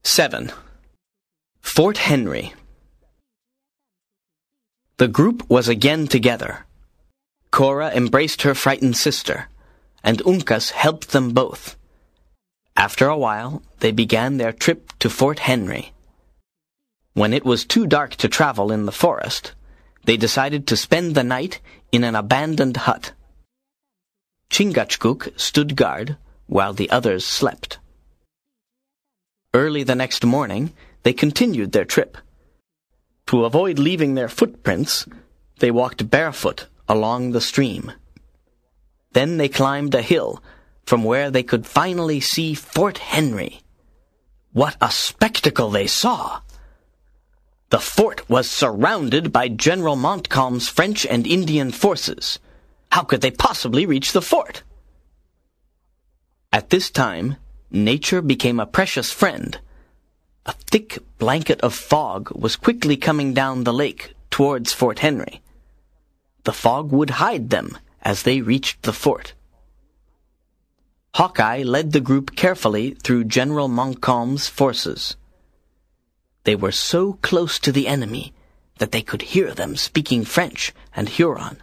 7. Fort Henry. The group was again together. Cora embraced her frightened sister, and Uncas helped them both. After a while, they began their trip to Fort Henry. When it was too dark to travel in the forest, they decided to spend the night in an abandoned hut. Chingachgook stood guard while the others slept. Early the next morning, they continued their trip. To avoid leaving their footprints, they walked barefoot along the stream. Then they climbed a hill from where they could finally see Fort Henry. What a spectacle they saw! The fort was surrounded by General Montcalm's French and Indian forces. How could they possibly reach the fort? At this time, nature became a precious friend. A thick blanket of fog was quickly coming down the lake towards Fort Henry. The fog would hide them as they reached the fort. Hawkeye led the group carefully through General Montcalm's forces. They were so close to the enemy that they could hear them speaking French and Huron.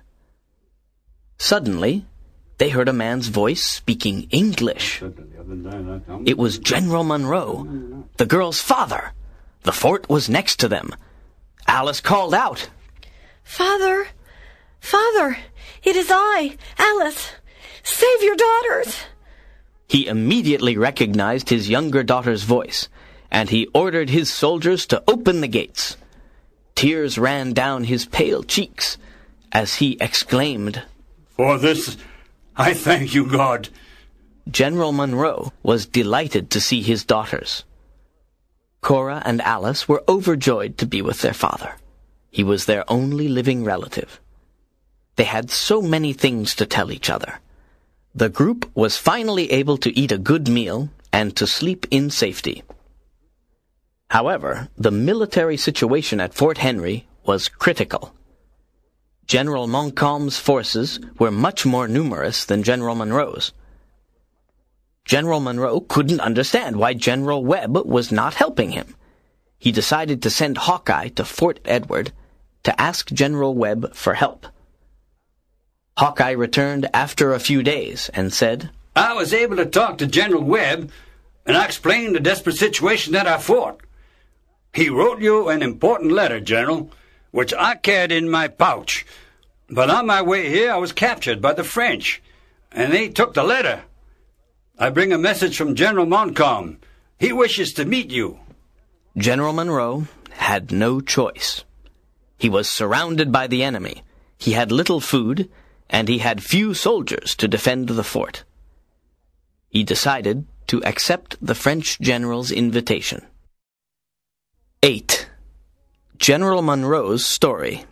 Suddenly, they heard a man's voice speaking English. It was General Monroe, the girl's father. The fort was next to them. Alice called out, "Father! Father! It is I, Alice! Save your daughters!" He immediately recognized his younger daughter's voice, and he ordered his soldiers to open the gates. Tears ran down his pale cheeks as he exclaimed, "For this I thank you, God." General Monroe was delighted to see his daughters. Cora and Alice were overjoyed to be with their father. He was their only living relative. They had so many things to tell each other. The group was finally able to eat a good meal and to sleep in safety. However, the military situation at Fort Henry was critical. General Montcalm's forces were much more numerous than General Monroe's. General Monroe couldn't understand why General Webb was not helping him. He decided to send Hawkeye to Fort Edward to ask General Webb for help. Hawkeye returned after a few days and said, "I was able to talk to General Webb, and I explained the desperate situation at our fort. He wrote you an important letter, General, which I carried in my pouch. But on my way here, I was captured by the French, and they took the letter. I bring a message from General Montcalm. He wishes to meet you." General Monroe had no choice. He was surrounded by the enemy. He had little food, and he had few soldiers to defend the fort. He decided to accept the French general's invitation. 8. General Monroe's story.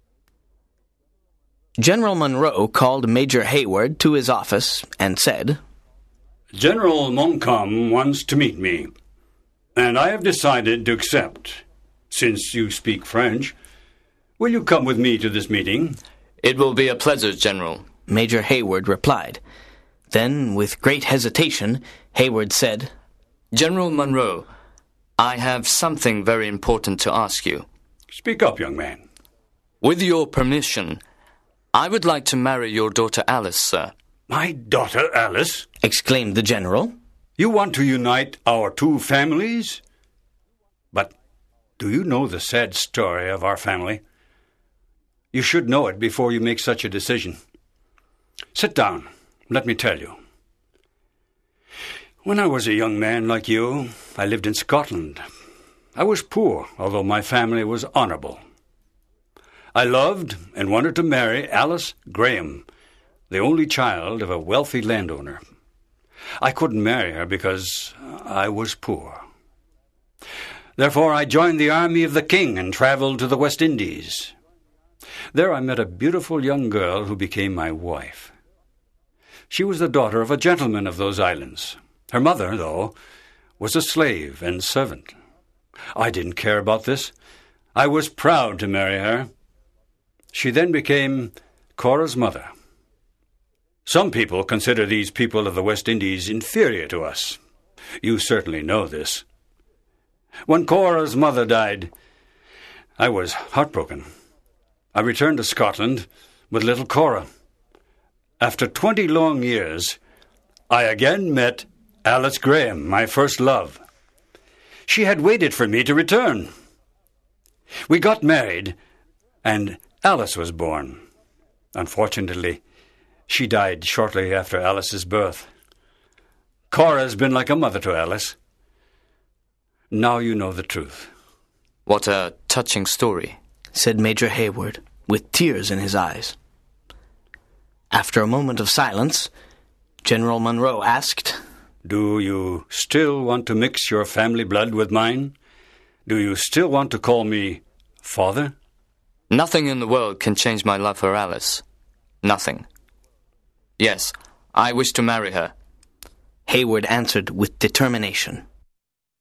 General Monroe called Major Hayward to his office and said, "General Montcalm wants to meet me, and I have decided to accept, since you speak French. Will you come with me to this meeting?" "It will be a pleasure, General," Major Hayward replied. Then, with great hesitation, Hayward said, "General Monroe, I have something very important to ask you." "Speak up, young man." "With your permission, I would like to marry your daughter Alice, sir." "My daughter Alice?" exclaimed the general. "You want to unite our two families? But do you know the sad story of our family? You should know it before you make such a decision. Sit down. Let me tell you. When I was a young man like you, I lived in Scotland. I was poor, although my family was honorable. I loved and wanted to marry Alice Graham, the only child of a wealthy landowner. I couldn't marry her because I was poor. Therefore, I joined the army of the king and traveled to the West Indies. There I met a beautiful young girl who became my wife. She was the daughter of a gentleman of those islands. Her mother, though, was a slave and servant. I didn't care about this. I was proud to marry her. She then became Cora's mother. Some people consider these people of the West Indies inferior to us. You certainly know this. When Cora's mother died, I was heartbroken. I returned to Scotland with little Cora. After 20 long years, I again met Alice Graham, my first love. She had waited for me to return. We got married, and Alice was born. Unfortunately, she died shortly after Alice's birth. Cora's been like a mother to Alice. Now you know the truth. What a touching story, said Major Hayward, with tears in his eyes. After a moment of silence, General Monroe asked, Do you still want to mix your family blood with mine? Do you still want to call me father? Nothing in the world can change my love for Alice. Nothing. Yes, I wish to marry her. Hayward answered with determination.